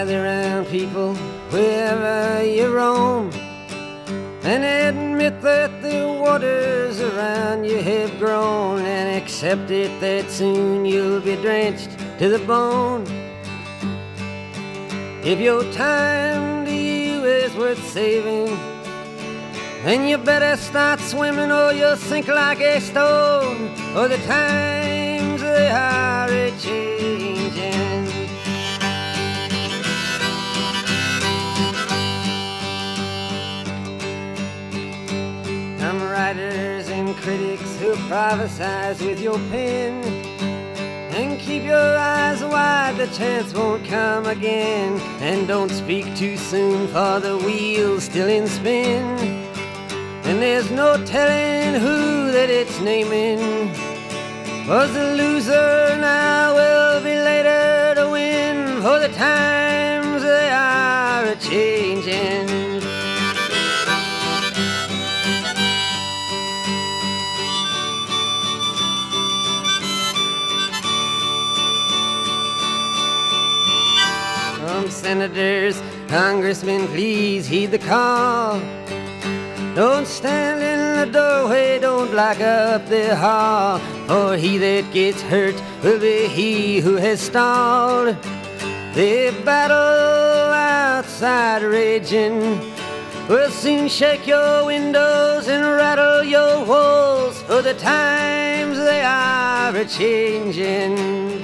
gather round people wherever you roam, and admit that the waters around you have grown, and accept it that soon you'll be drenched to the bone. If your time to you is worth saving, then you better start swimming or you'll sink like a stone, for the times they are a-changing. Some writers and critics who prophesize with your pen, and keep your eyes wide, the chance won't come again. And don't speak too soon, for the wheel's still in spin, and there's no telling who that it's naming. Was the loser now will be later to win, for the times they are a-changing. Senators, congressmen, please heed the call. Don't stand in the doorway, don't block up the hall, for he that gets hurt will be he who has stalled. The battle outside raging will soon shake your windows and rattle your walls, for the times they are a-changing.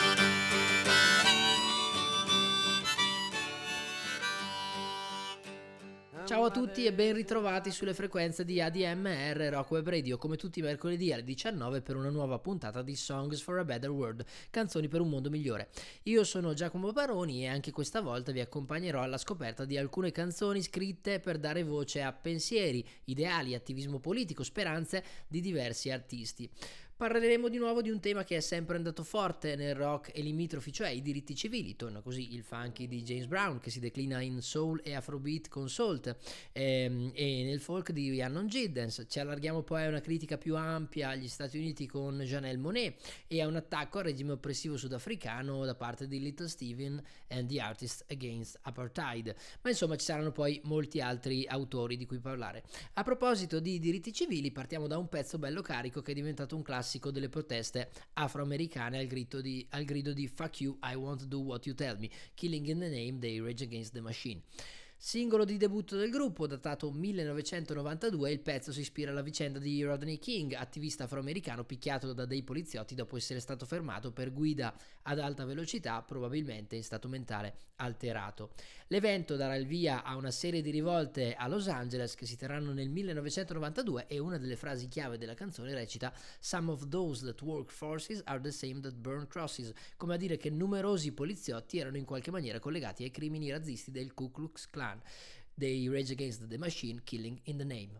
Ciao a tutti e ben ritrovati sulle frequenze di ADMR Rock Web Radio, come tutti i mercoledì alle 19 per una nuova puntata di Songs for a Better World, canzoni per un mondo migliore. Io sono Giacomo Baroni e anche questa volta vi accompagnerò alla scoperta di alcune canzoni scritte per dare voce a pensieri, ideali, attivismo politico, speranze di diversi artisti. Parleremo di nuovo di un tema che è sempre andato forte nel rock e limitrofi, cioè i diritti civili. Torna così il funky di James Brown, che si declina in soul e afrobeat con Salt, e nel folk di Unknown Giddens. Ci allarghiamo poi a una critica più ampia agli Stati Uniti con Janelle Monáe e a un attacco al regime oppressivo sudafricano da parte di Little Steven and the Artists Against Apartheid. Ma insomma ci saranno poi molti altri autori di cui parlare. A proposito di diritti civili, partiamo da un pezzo bello carico che è diventato un classico delle proteste afroamericane al grido di "Fuck you, I won't do what you tell me", Killing in the Name dei Rage Against the Machine. Singolo di debutto del gruppo, datato 1992, il pezzo si ispira alla vicenda di Rodney King, attivista afroamericano picchiato da dei poliziotti dopo essere stato fermato per guida ad alta velocità, probabilmente in stato mentale alterato. L'evento darà il via a una serie di rivolte a Los Angeles che si terranno nel 1992 e una delle frasi chiave della canzone recita "Some of those that work forces are the same that burn crosses", come a dire che numerosi poliziotti erano in qualche maniera collegati ai crimini razzisti del Ku Klux Klan, dei Rage Against the Machine, Killing in the Name.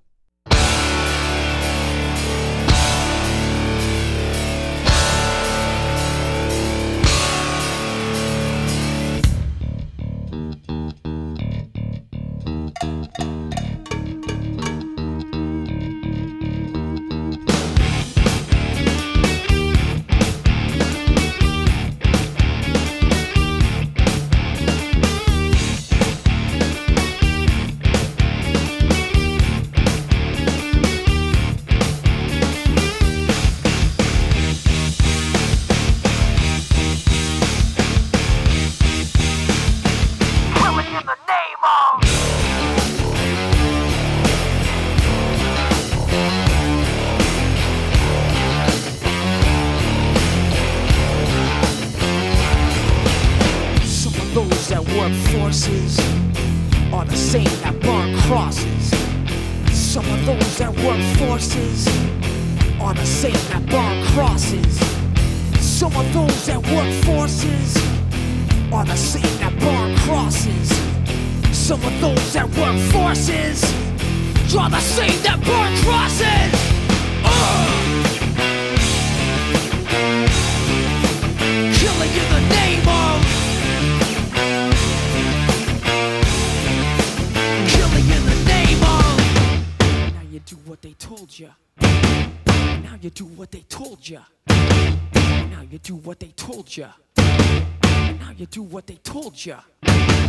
Forces are the same that burn crosses. Some of those that work forces are the same that burn crosses. Some of those that work forces are the same that burn crosses. Some of those that work forces are the same that burn crosses. Killing in the name of do what they told ya. Now you do what they told ya. Now you do what they told ya. Now you do what they told ya.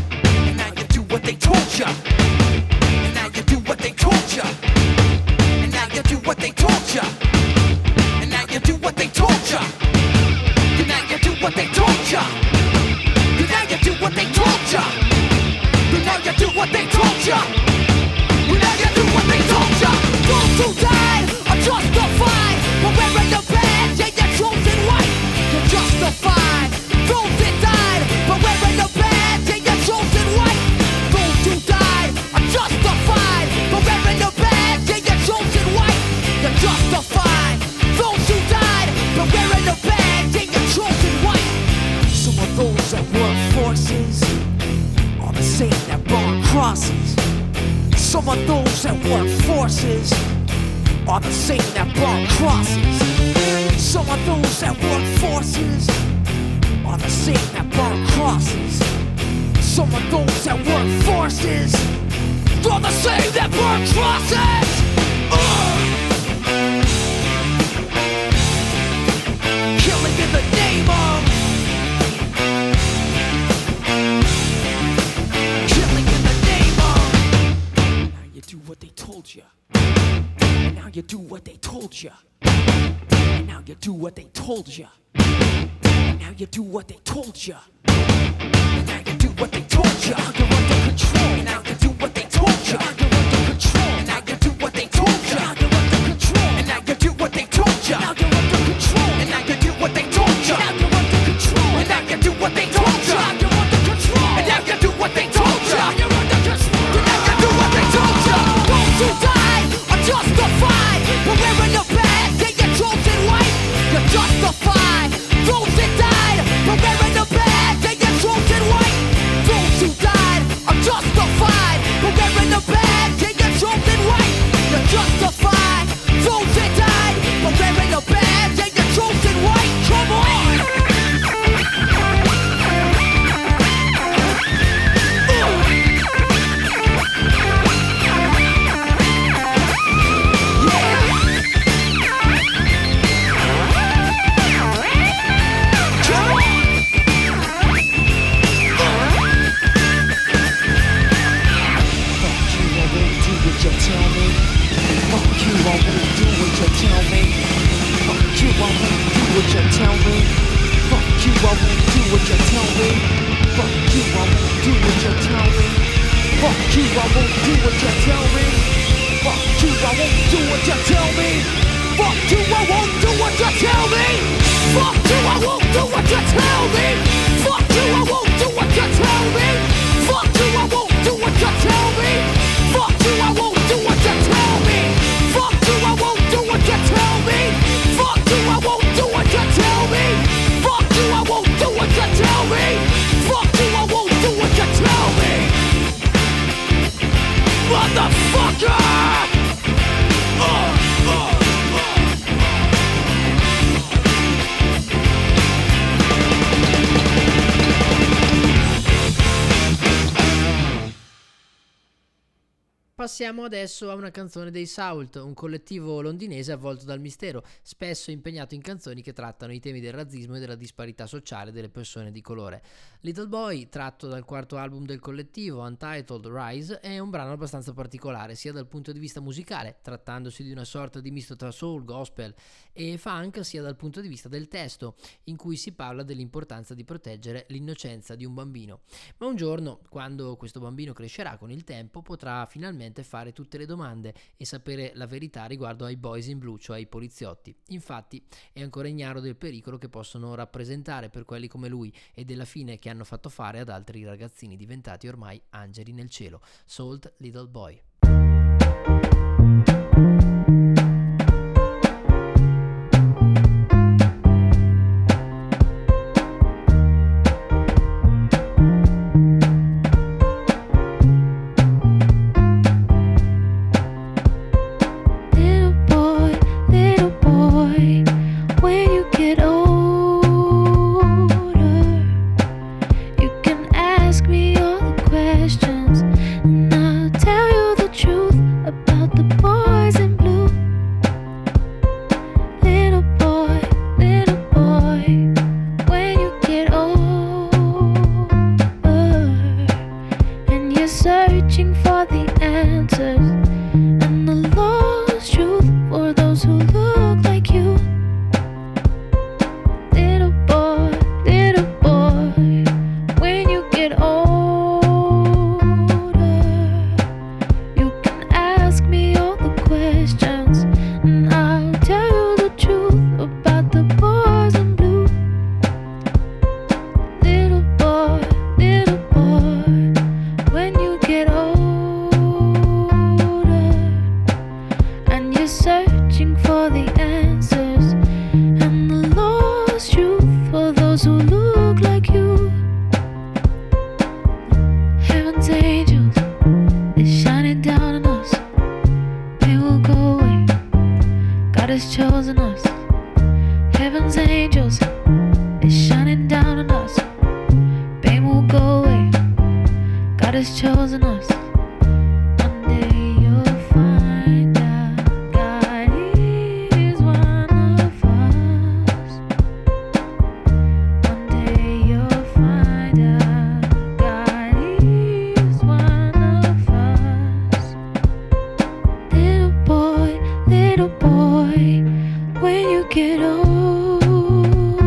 And now you do what they told ya. And now you do what they told ya. And now you do what they told ya. And now you do what they told ya. And now you do what they told ya. And now you do what they told ya. And now you do what they told ya. And now you do what they told ya. Those who died are justified for wearing the badge and your chosen white. You're justified. Those that died for wearing the badge and your chosen white. Those who died are justified for wearing the badge and your chosen white. You're justified. Those who died for wearing the badge and your chosen white. Some of those that work forces are the same that burn crosses. Some of those that work forces are the same that burn crosses. Some of those that work forces are the same that burn crosses. Some of those that work forces are the same that burn crosses. Killing in the name of. Killing in the name of. Now you do what they told you. And now you do what they told you. And now you do what they told you. And now you do what they told you. And now you do what they told you. You're under control. And now you do what they told you. You're under control. And now you do what they told you. You're under control. And now you do what they told you. Now you're under control. And now you do what they told you. Now you're under control. And now you do what they told you. You're under control. And now you do what they told you. You're under control. And now you do what they told you. Those who died are justified for wearing the badge and your chosen white. You're justified. Those that died for wearing the badge and your chosen white. Those who died are justified for wearing the badge and your chosen white. You're justified. Those that died for wearing the badge and your chosen white. Come on. Passiamo adesso a una canzone dei Sault, un collettivo londinese avvolto dal mistero, spesso impegnato in canzoni che trattano i temi del razzismo e della disparità sociale delle persone di colore. Little Boy, tratto dal quarto album del collettivo, Untitled Rise, è un brano abbastanza particolare, sia dal punto di vista musicale, trattandosi di una sorta di misto tra soul, gospel e funk, sia dal punto di vista del testo, in cui si parla dell'importanza di proteggere l'innocenza di un bambino. Ma un giorno, quando questo bambino crescerà con il tempo, potrà finalmente fare tutte le domande e sapere la verità riguardo ai boys in blue, cioè ai poliziotti. Infatti è ancora ignaro del pericolo che possono rappresentare per quelli come lui e della fine che hanno fatto fare ad altri ragazzini diventati ormai angeli nel cielo. Salt Little Boy. Ask me all the questions and I'll tell you the God has chosen us. Heaven's angels is shining down on us. Pain will go away. God has chosen us. One day you'll find out God is one of us. One day you'll find out God is one of us. Little boy, when you get older,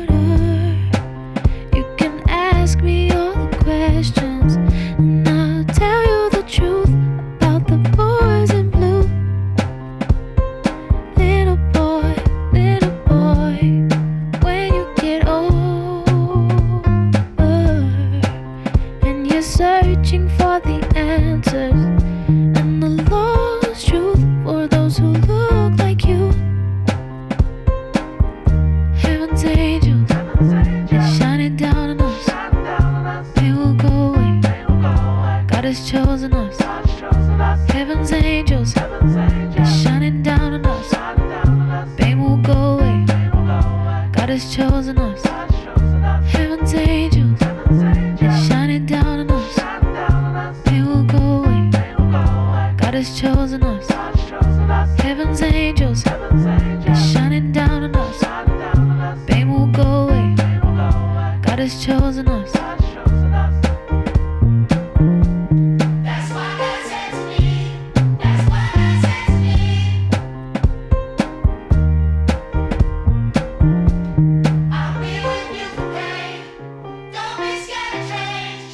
you can ask me all the questions, and I'll tell you the truth about the boys in blue. Little boy, when you get older, and you're searching for the answers and the lost truth for those who look like you. Heaven's angels is shining down on us. Pain will go away. God has chosen us. Heaven's angels is shining down on us. Pain will go away. God has chosen us. Heaven's angels is shining down on us. Pain will go away. God has chosen us. Heaven's angels is shining down on us. Pain will go away. God has chosen us. That's why God sends me. That's why God sends me. I'll be with you for pain. Don't be scared of change.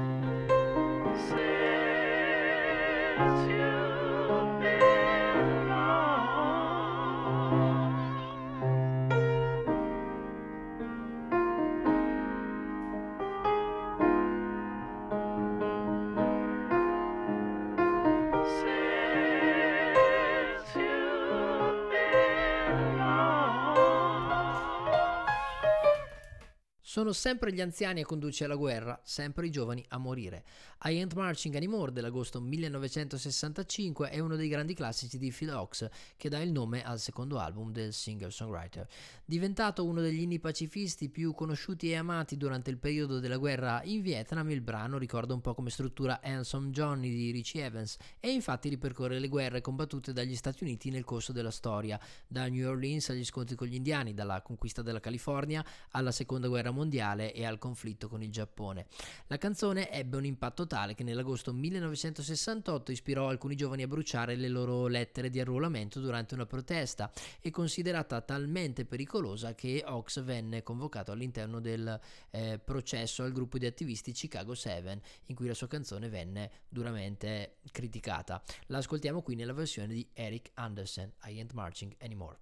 Sono sempre gli anziani a condurci alla guerra, sempre i giovani a morire. I Ain't Marching Anymore dell'agosto 1965 è uno dei grandi classici di Phil Ochs, che dà il nome al secondo album del singer-songwriter. Diventato uno degli inni pacifisti più conosciuti e amati durante il periodo della guerra in Vietnam, il brano ricorda un po' come struttura Handsome Johnny di Richie Evans e infatti ripercorre le guerre combattute dagli Stati Uniti nel corso della storia, da New Orleans agli scontri con gli indiani, dalla conquista della California alla seconda guerra mondiale e al conflitto con il Giappone. La canzone ebbe un impatto tale che nell'agosto 1968 ispirò alcuni giovani a bruciare le loro lettere di arruolamento durante una protesta e considerata talmente pericolosa che Ochs venne convocato all'interno del processo al gruppo di attivisti Chicago 7, in cui la sua canzone venne duramente criticata. La ascoltiamo qui nella versione di Eric Anderson, I Ain't Marching Anymore.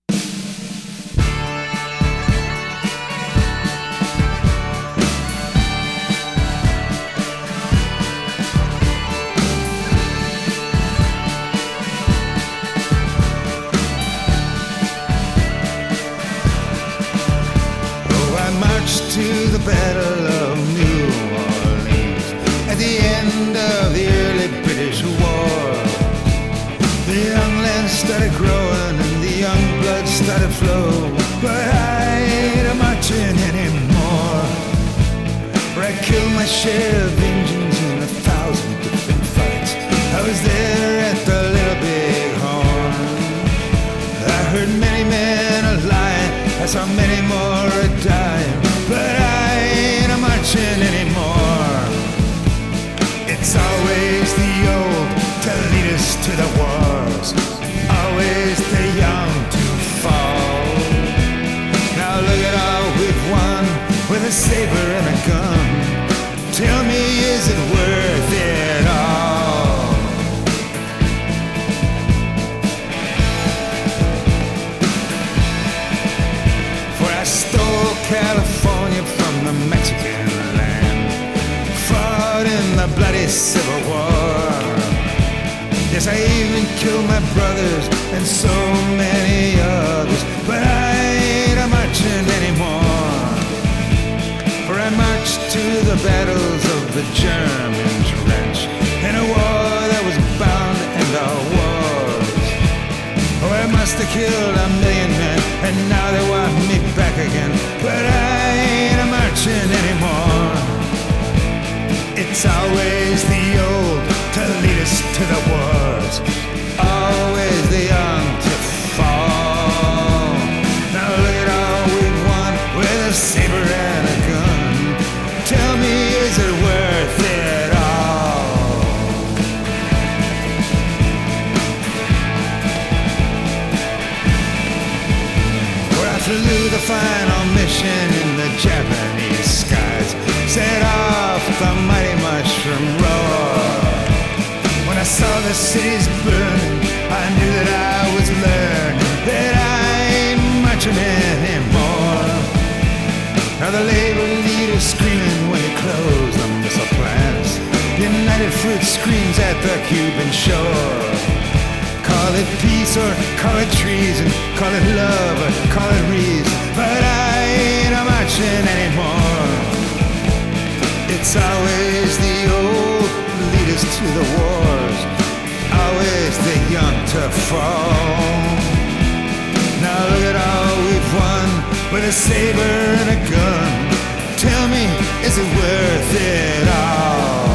To the Battle of New Orleans at the end of the early British War. The young land started growing and the young blood started flowing, but I ain't marching anymore. For I killed my share of Indians in 1,000 different fights. I was there at the Little Big Horn. I heard many men a lying, I saw many more a dying, but I ain't marching anymore. It's always the old to lead us to the wars, always the young to fall. Now look at all we've won with a saber and a gun. Tell me, is it worth it all? For I stole California from the Mexican land, fought in the bloody Civil War. Yes, I even killed my brothers and so many others, but I ain't marching anymore. For I marched to the battles of the German trench in a war that was bound to end our wars. Oh, I must have killed 1,000,000 men, and now they want me back again. But I ain't a marching anymore. It's always the old to lead us to the wars, always the young to fall. Now look at all we've won with a saber and a gun. Tell me, is it worth it all? Well, I flew the final mission in the Japanese skies, set off the mighty mushroom roar. When I saw the cities burn, I knew that I was learning that I ain't marching anymore. Now the labor leader's screaming when he closed the missile plants. United Fruit screams at the Cuban shore. Call it peace or call it treason, call it love or call it reason, but I ain't a marching anymore. It's always the old lead us to the wars, always the young to fall. Now look at all we've won with a saber and a gun. Tell me, is it worth it all?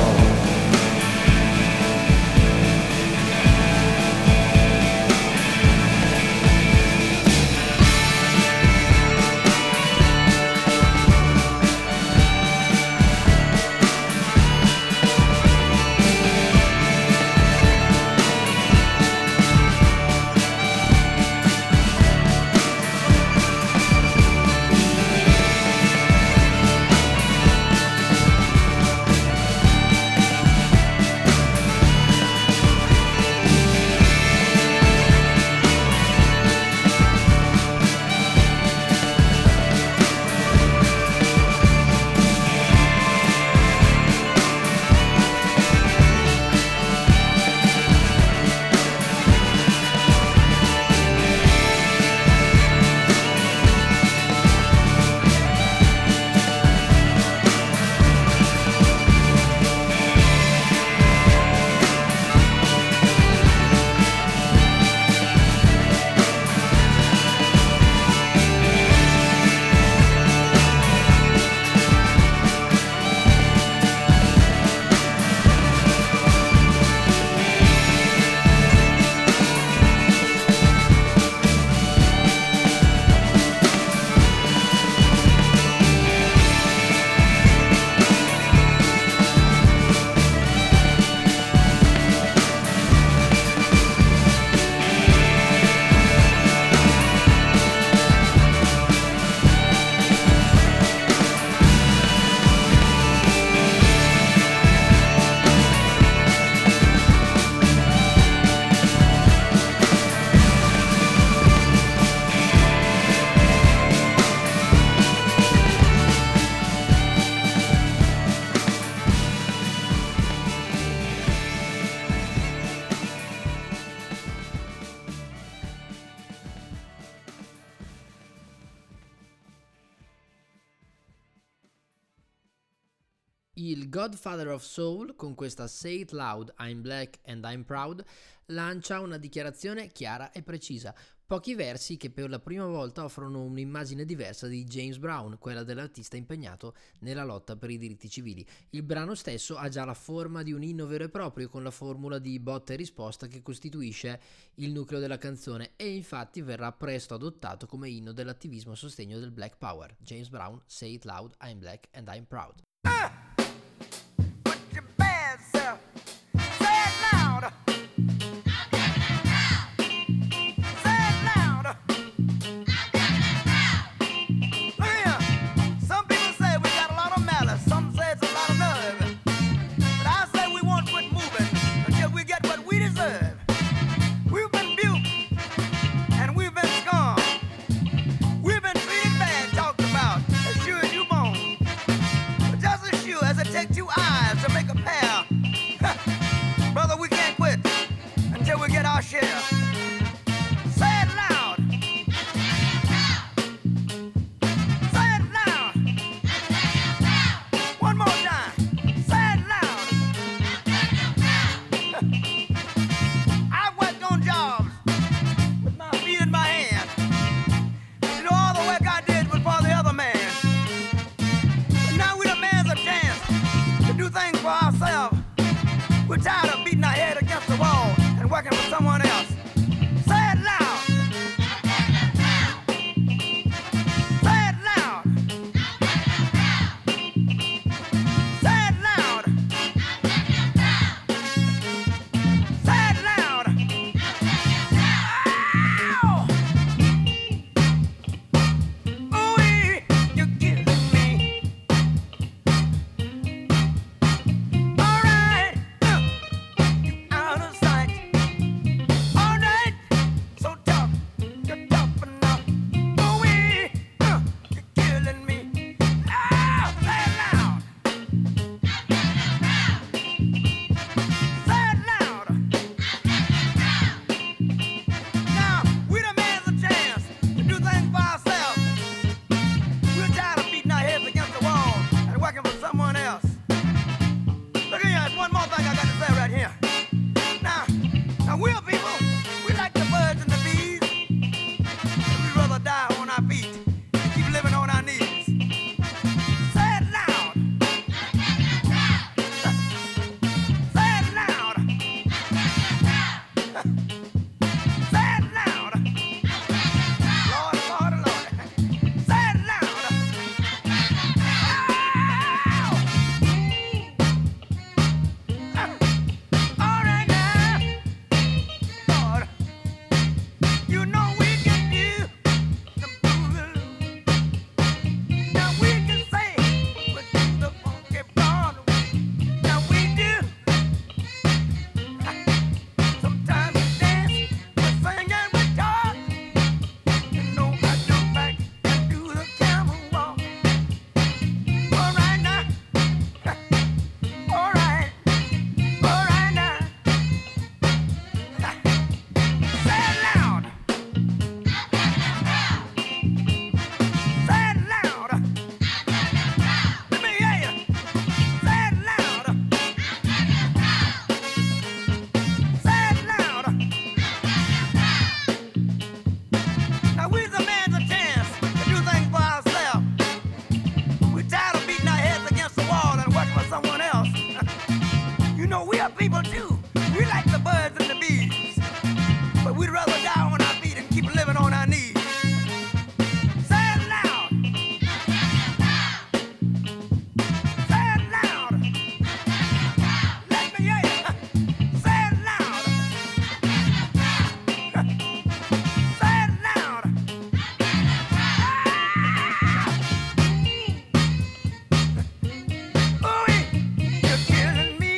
Il Godfather of Soul, con questa Say It Loud, I'm Black and I'm Proud, lancia una dichiarazione chiara e precisa. Pochi versi che per la prima volta offrono un'immagine diversa di James Brown, quella dell'artista impegnato nella lotta per i diritti civili. Il brano stesso ha già la forma di un inno vero e proprio, con la formula di botta e risposta che costituisce il nucleo della canzone, e infatti verrà presto adottato come inno dell'attivismo a sostegno del Black Power. James Brown, Say It Loud, I'm Black and I'm Proud. We've been treated bad, talked about, as sure as you born. But just as sure We'd rather die on our feet and keep living on our knees. Say it loud. Say it loud. Let me hear you. Say it loud. Say it loud. Ooh, you're killing me.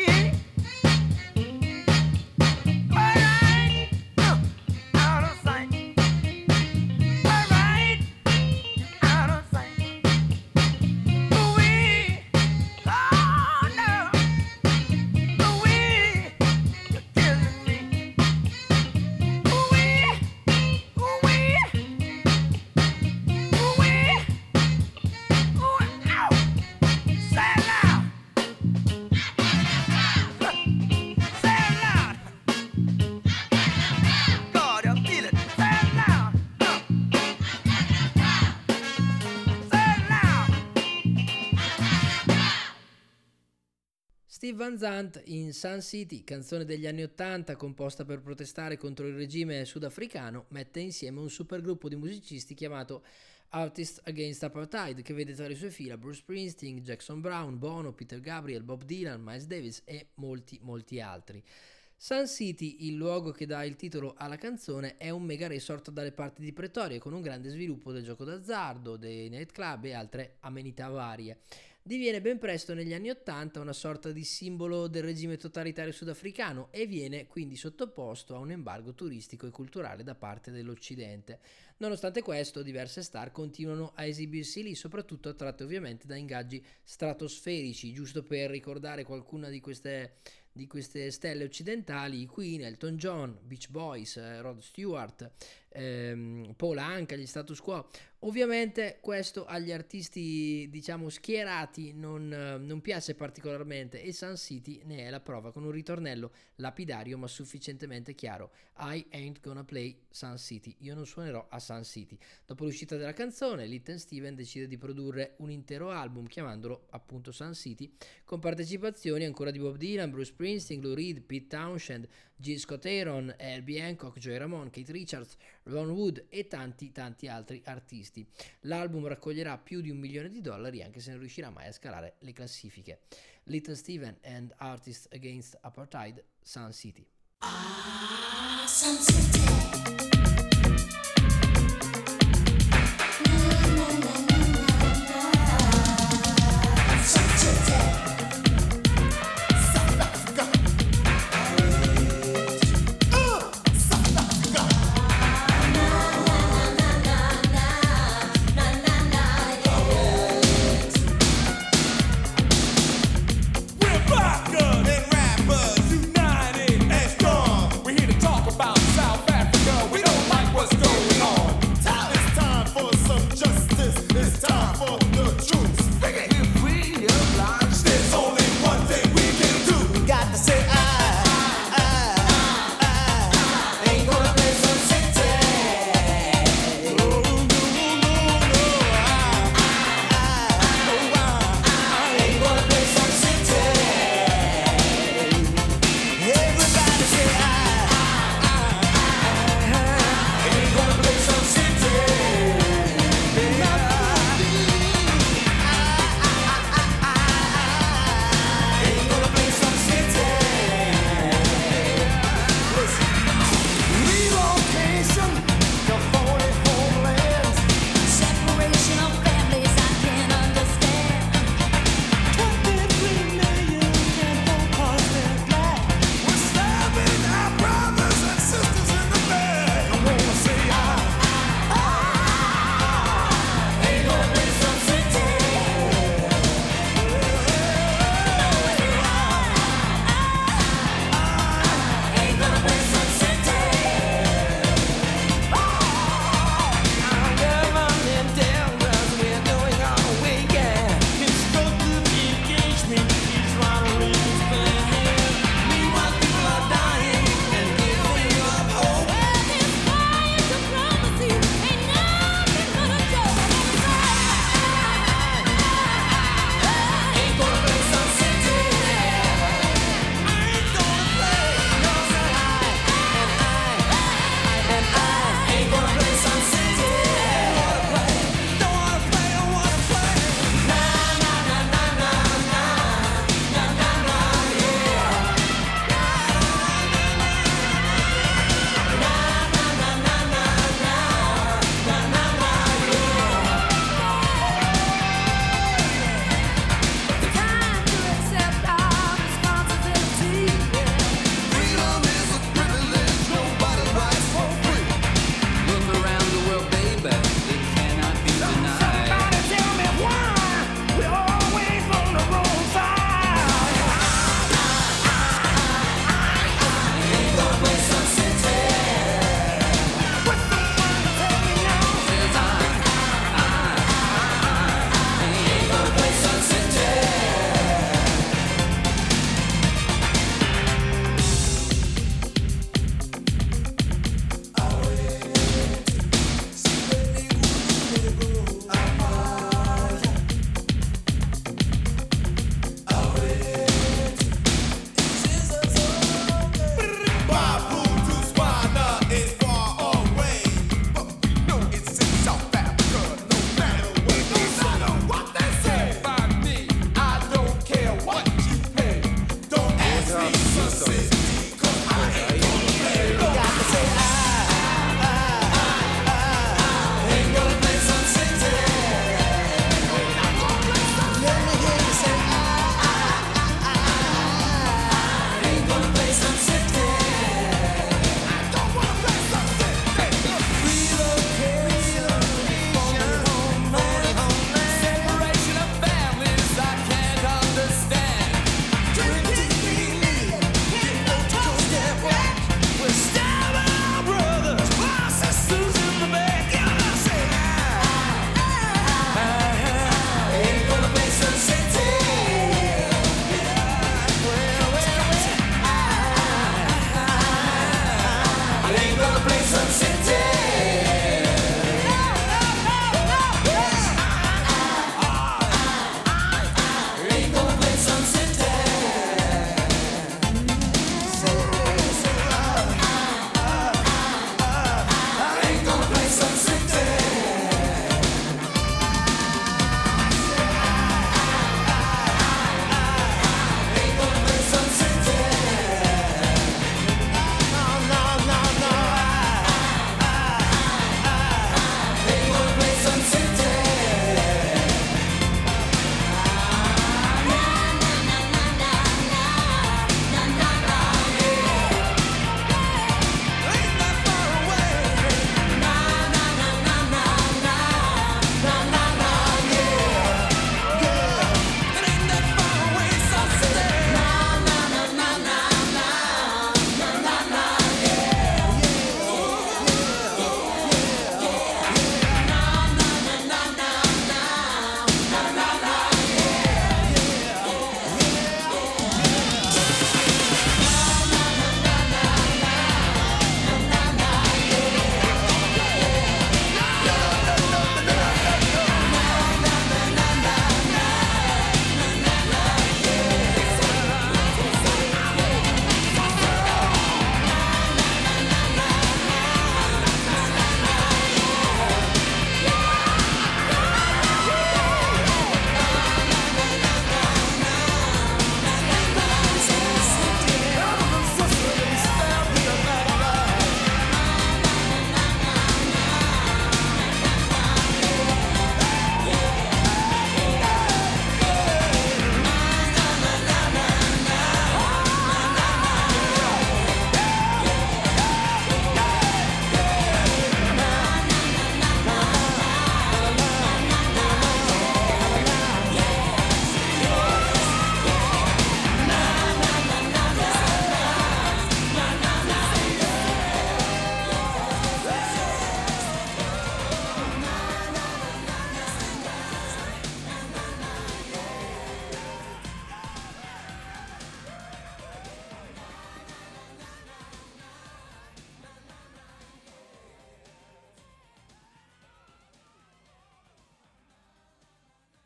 Alright, out of sight. Alright, out of sight. Ooh-wee, oh no. Ooh-wee, you're killing me. Ooh-wee, ooh-wee, ooh-wee, ooh, ow. Say it loud. Say it loud. God, I feel it. Say it loud. Say it loud. Steve Van Zandt in Sun City, canzone degli anni 80 composta per protestare contro il regime sudafricano, mette insieme un supergruppo di musicisti chiamato Artists Against Apartheid, che vede tra le sue fila Bruce Springsteen, Jackson Brown, Bono, Peter Gabriel, Bob Dylan, Miles Davis e molti altri. Sun City, il luogo che dà il titolo alla canzone, è un mega resort dalle parti di Pretoria, con un grande sviluppo del gioco d'azzardo, dei nightclub e altre amenità varie. Diviene ben presto negli anni 80 una sorta di simbolo del regime totalitario sudafricano e viene quindi sottoposto a un embargo turistico e culturale da parte dell'Occidente. Nonostante questo, diverse star continuano a esibirsi lì, soprattutto attratte ovviamente da ingaggi stratosferici. Giusto per ricordare qualcuna di queste stelle occidentali: i Queen, Elton John, Beach Boys, Rod Stewart, Paul Anka, gli Status Quo. Ovviamente questo agli artisti, diciamo, schierati non piace particolarmente, e Sun City ne è la prova, con un ritornello lapidario ma sufficientemente chiaro: I ain't gonna play Sun City, io non suonerò a Sun City. Dopo l'uscita della canzone, Little Steven decide di produrre un intero album chiamandolo appunto Sun City, con partecipazioni ancora di Bob Dylan, Bruce Springsteen, Lou Reed, Pete Townshend, G. Scott Aaron, Herbie Hancock, Joey Ramone, Keith Richards, Ron Wood e tanti altri artisti. L'album raccoglierà più di $1 milione, anche se non riuscirà mai a scalare le classifiche. Little Steven and Artists Against Apartheid, Sun City. Sun City. We're rockers and rappers united and strong. We're here to talk about South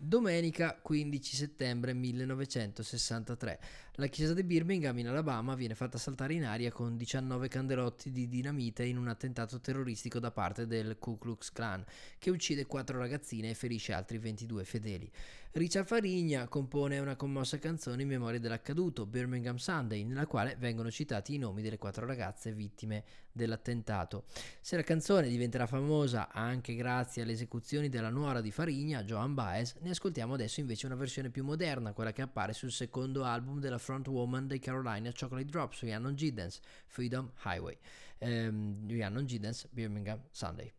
Domenica 15 settembre 1963. La chiesa di Birmingham in Alabama viene fatta saltare in aria con 19 candelotti di dinamite in un attentato terroristico da parte del Ku Klux Klan, che uccide 4 ragazzine e ferisce altri 22 fedeli. Richard Farigna compone una commossa canzone in memoria dell'accaduto, Birmingham Sunday, nella quale vengono citati i nomi delle 4 ragazze vittime dell'attentato. Se la canzone diventerà famosa anche grazie alle esecuzioni della nuora di Farigna, Joan Baez, ne ascoltiamo adesso invece una versione più moderna, quella che appare sul secondo album della frontwoman dei Carolina Chocolate Drops, Rhiannon Giddens, Freedom Highway. Rhiannon Giddens, Birmingham Sunday.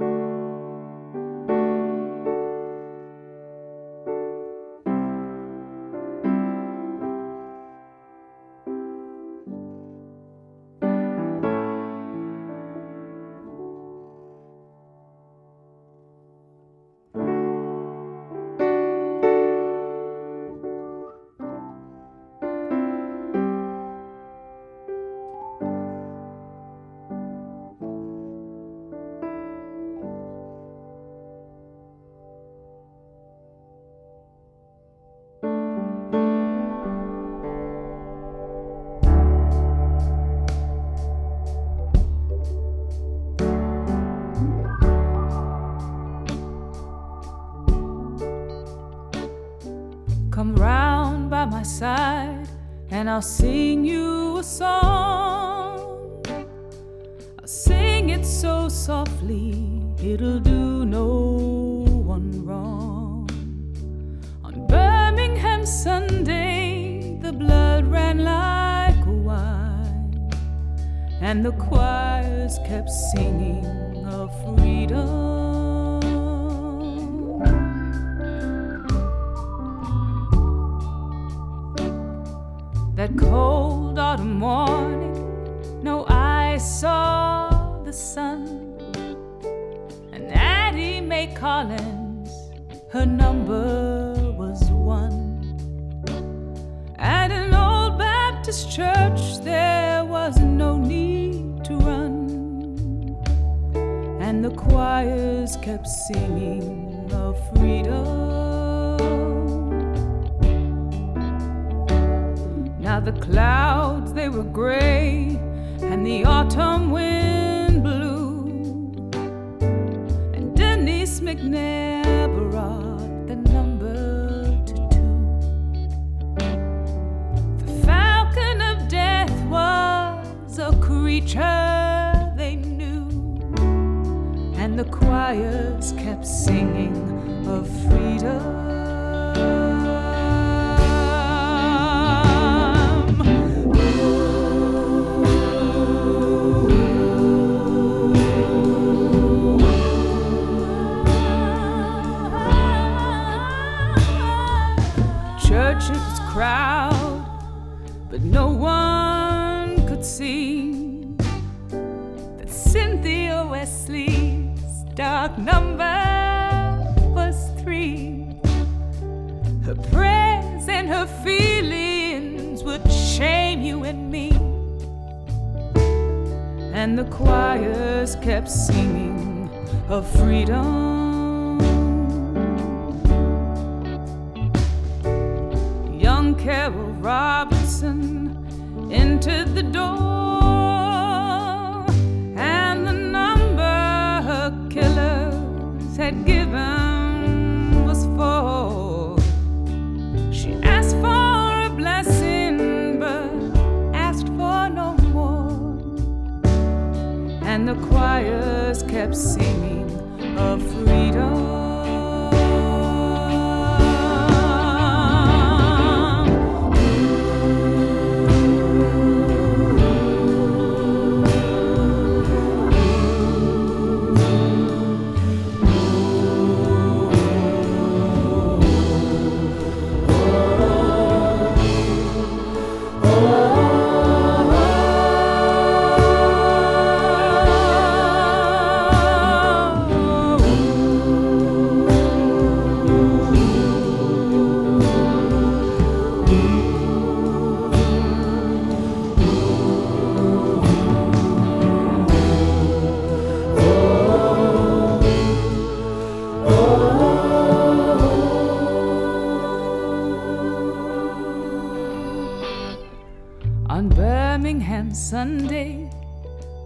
Come round by my side and I'll sing you a song. I'll sing it so softly, it'll do no one wrong. On Birmingham Sunday, the blood ran like a wine, and the choirs kept singing of freedom. That cold autumn morning, no eye saw the sun, and Addie Mae Collins, her number was 1. At an old Baptist church there was no need to run, and the choirs kept singing of freedom. Now the clouds, they were gray, and the autumn wind blew, and Denise McNair brought the number to 2. The falcon of death was a creature they knew, and the choirs kept singing of freedom. Churches crowd, but no one could see that Cynthia Wesley's dark number was 3. Her prayers and her feelings would shame you and me, and the choirs kept singing of freedom. Young Carol Robinson entered the door, and the number her killers had given was 4. She asked for a blessing, but asked for no more, and the choirs kept singing of freedom.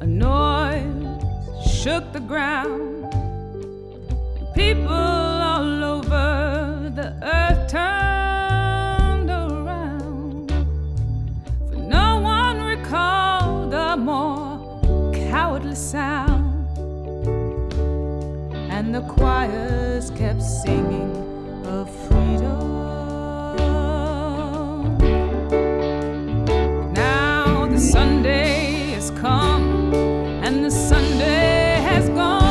A noise shook the ground. People all over the earth turned around, for no one recalled a more cowardly sound. And the choirs kept singing of freedom. Now the Sunday has come and the Sunday has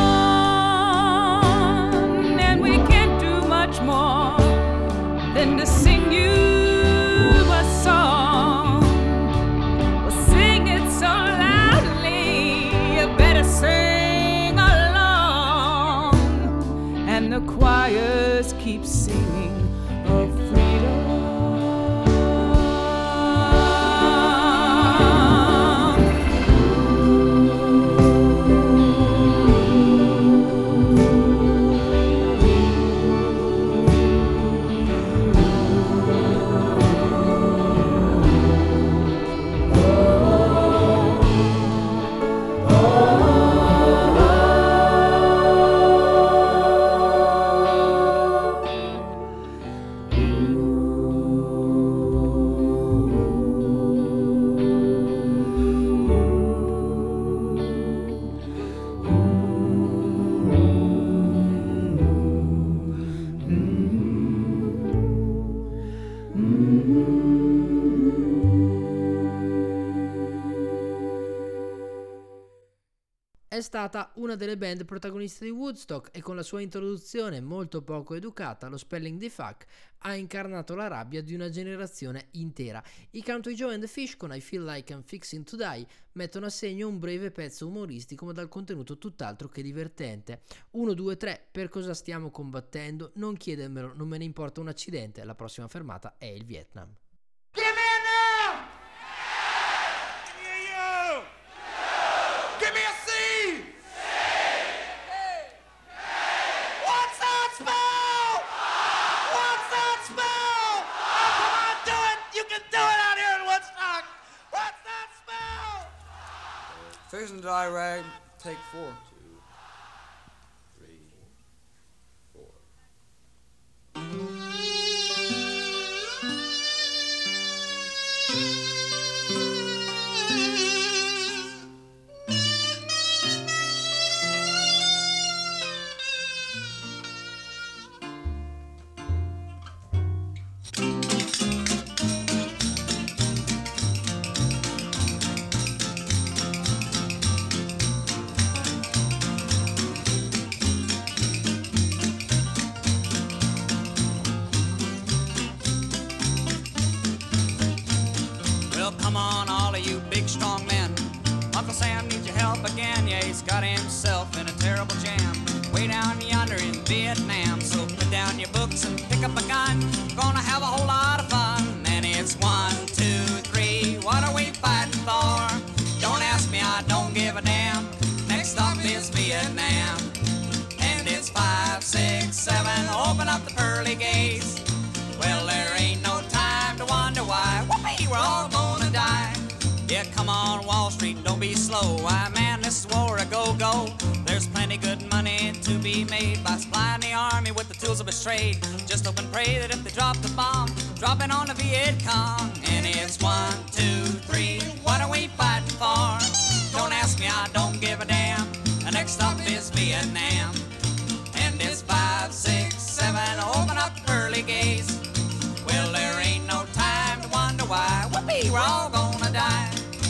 gone, and we can't do much more than to sing you a song. We'll sing it so loudly, you better sing along. And the choirs keep singing of freedom. È stata una delle band protagoniste di Woodstock e con la sua introduzione molto poco educata, lo spelling di fuck, ha incarnato la rabbia di una generazione intera. I Country Joe and the Fish con I Feel Like I'm Fixing to Die mettono a segno un breve pezzo umoristico ma dal contenuto tutt'altro che divertente. 1, 2, 3, per cosa stiamo combattendo? Non chiedermelo, non me ne importa un accidente, la prossima fermata è il Vietnam. Give me a now! Yeah, you! Give me a C! What's that spell? What's that spell? Oh, come on, do it! You can do it out here in Woodstock! What's that spell? Susan Dry Rag, take 4. 2, 3, 4. Well, come on, all of you big, strong men. Uncle Sam needs your help again. Yeah, he's got himself in a terrible jam way down yonder in Vietnam. So put down your books and pick up a gun. Gonna have a whole lot of fun. And it's 1, 2, 3. What are we fighting for? Don't ask me, I don't give a damn. Next stop is Vietnam. And it's 5, 6, 7. Open up the pearly gates. Well, there ain't no time to wonder why. Whoopee, we're all gonna die. Yeah, come on, Wall Street, don't be slow. Why, man, this is war a go-go. There's plenty good money to be made by supplying the army with the tools of its trade. Just hope and pray that if they drop the bomb, drop it on the Viet Cong. And it's 1, 2, 3. What are we fighting for? Don't ask me, I don't give a damn. The next stop is Vietnam. And it's 5, 6, 7. Open up the pearly gates. Well, there ain't no time to wonder why. Whoopee, we're all gonna die.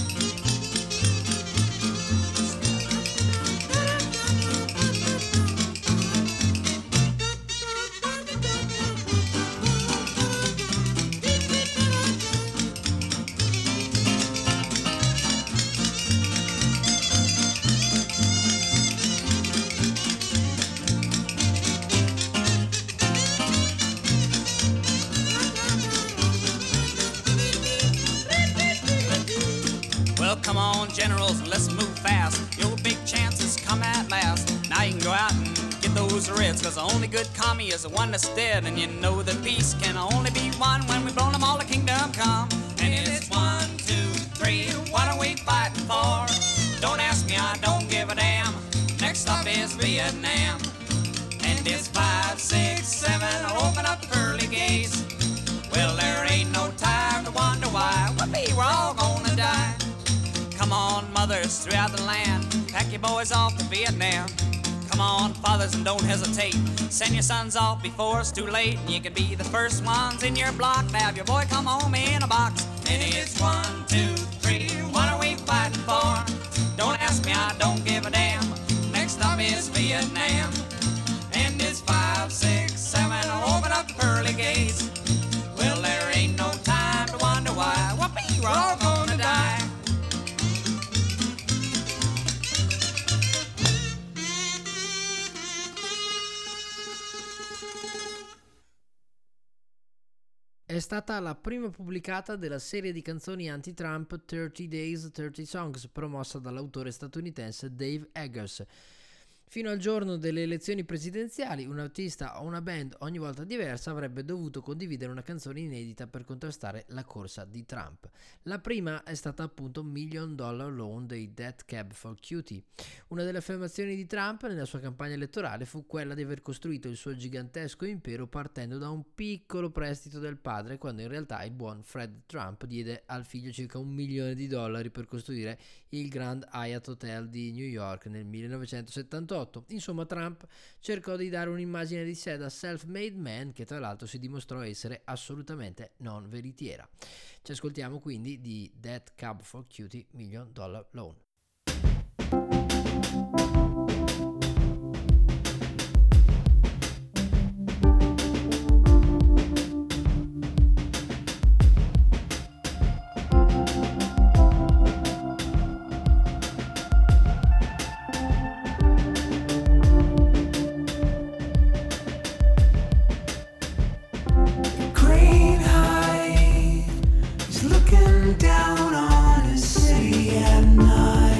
Well, come on, generals, and let's move fast. Your big chances come at last. Now you can go out and get those reds, cause the only good commie is the one that's dead. And you know that peace can only be won when we've blown them all, the kingdom come. And it's 1, 2, 3, what are we fighting for? Don't ask me, me, I don't give a damn. Next stop is Vietnam. And it's 5, 6, 7, open up the pearly gates. Well, there ain't no time to wonder why. Whoopee, we're all gonna die. Come on, mothers throughout the land, pack your boys off to Vietnam. Come on, fathers, and don't hesitate. Send your sons off before it's too late. You can be the first ones in your block to have your boy come home in a box. And it's 1, 2, 3, what are we fighting for? Don't ask me, I don't give a damn. Next stop is Vietnam. And it's 5, 6, 7, open up the pearly gates. Well, there ain't no time to wonder why. Whoopee, we're all gonna die. È stata la prima pubblicata della serie di canzoni anti-Trump 30 Days, 30 Songs, promossa dall'autore statunitense Dave Eggers. Fino al giorno delle elezioni presidenziali, un artista o una band ogni volta diversa avrebbe dovuto condividere una canzone inedita per contrastare la corsa di Trump. La prima è stata appunto $1 Million Loan dei Death Cab for Cutie. Una delle affermazioni di Trump nella sua campagna elettorale fu quella di aver costruito il suo gigantesco impero partendo da un piccolo prestito del padre, quando in realtà il buon Fred Trump diede al figlio circa $1 milione per costruire il Grand Hyatt Hotel di New York nel 1978. Insomma, Trump cercò di dare un'immagine di sé da self-made man, che tra l'altro si dimostrò essere assolutamente non veritiera. Ci ascoltiamo quindi di Death Cab for Cutie, $1 Million Loan. Green High is looking down on a city at night.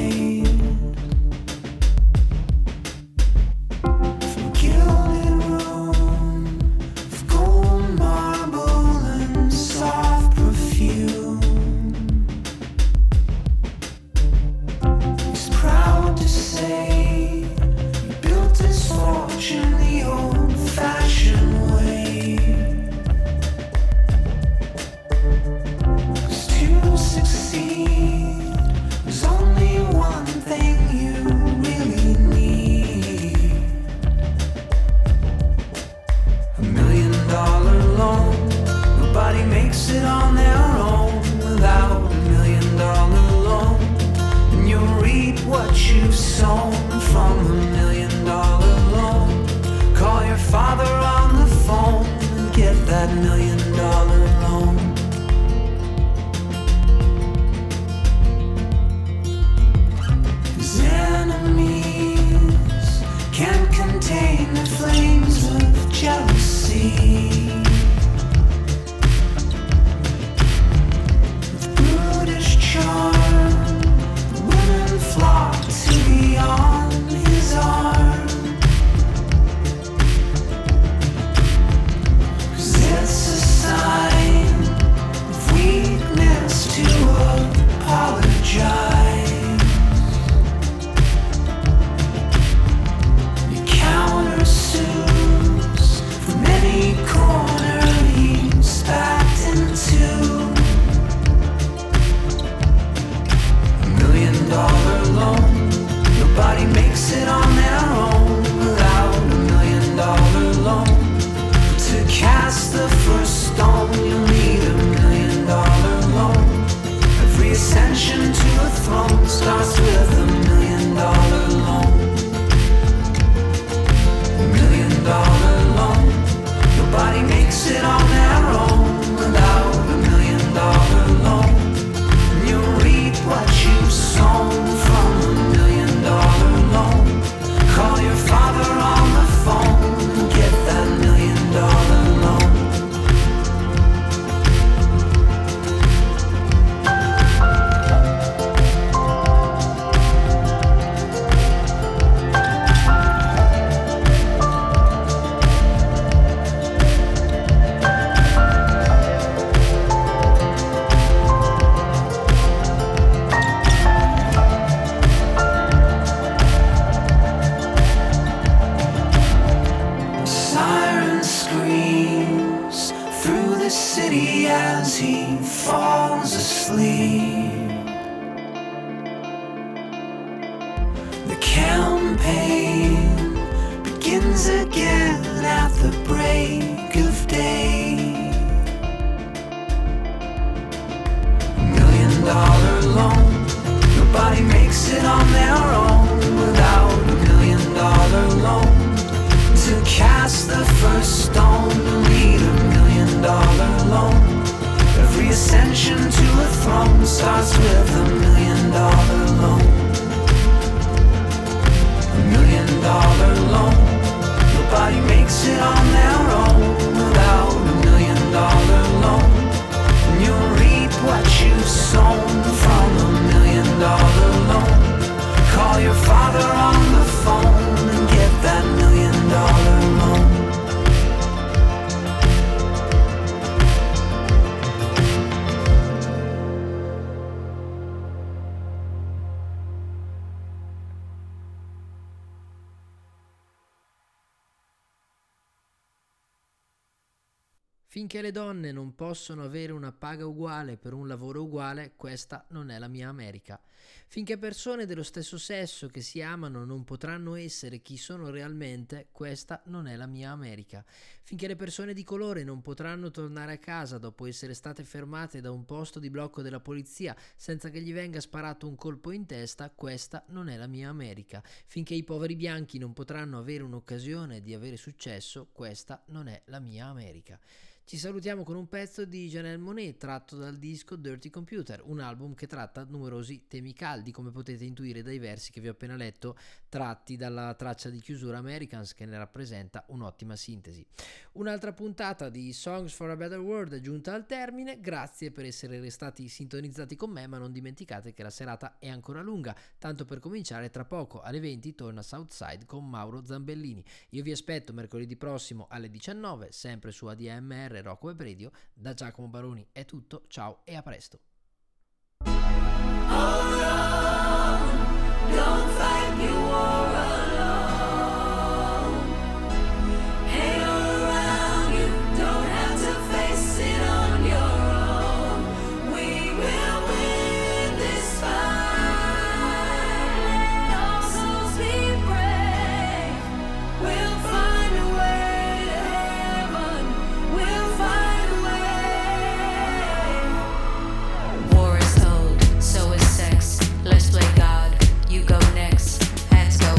Finché le donne non possono avere una paga uguale per un lavoro uguale, questa non è la mia America. Finché persone dello stesso sesso che si amano non potranno essere chi sono realmente, questa non è la mia America. Finché le persone di colore non potranno tornare a casa dopo essere state fermate da un posto di blocco della polizia senza che gli venga sparato un colpo in testa, questa non è la mia America. Finché i poveri bianchi non potranno avere un'occasione di avere successo, questa non è la mia America. Ci salutiamo con un pezzo di Janelle Monáe tratto dal disco Dirty Computer, un album che tratta numerosi temi caldi, come potete intuire dai versi che vi ho appena letto, tratti dalla traccia di chiusura Americans, che ne rappresenta un'ottima sintesi. Un'altra puntata di Songs for a Better World è giunta al termine, grazie per essere restati sintonizzati con me, ma non dimenticate che la serata è ancora lunga, tanto per cominciare tra poco alle 20 torna Southside con Mauro Zambellini. Io vi aspetto mercoledì prossimo alle 19, sempre su ADMR Rock Web Radio. Da Giacomo Baroni è tutto, ciao e a presto. Don't fight your war alone. Hang around, you don't have to face it on your own. We will win this fight. Let all souls be brave. We'll find a way to heaven. We'll find a way. War is old, so is sex. Let's play God. You go next. Hands go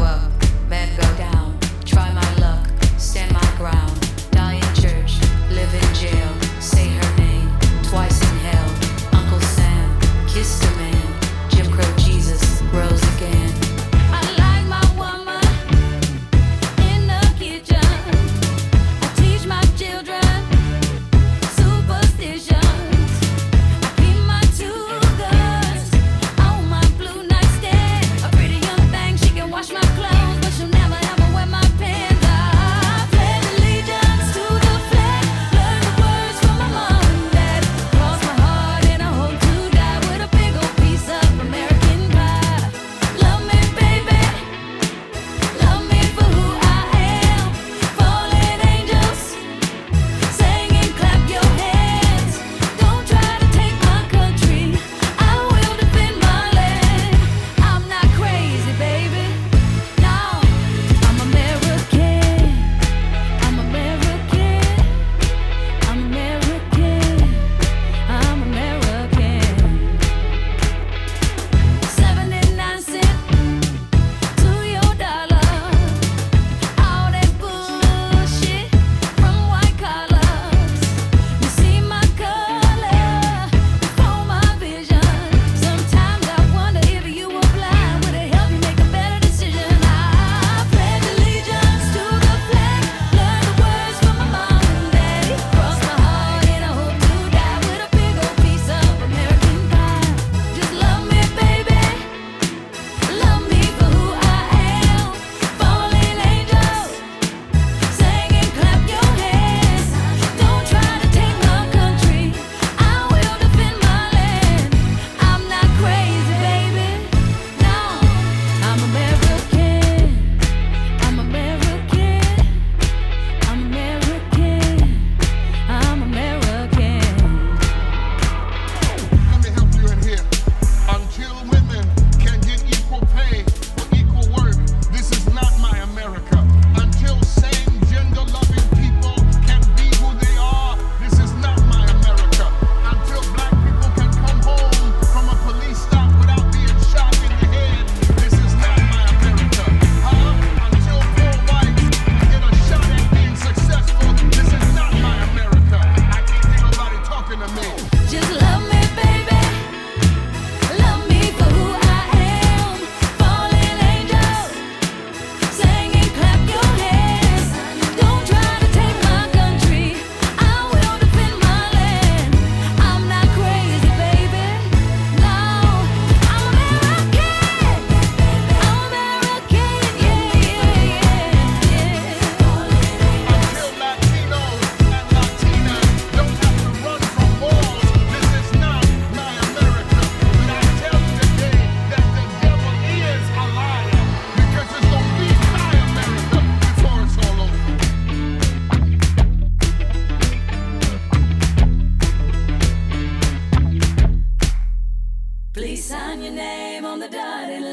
Please sign your name on the dotted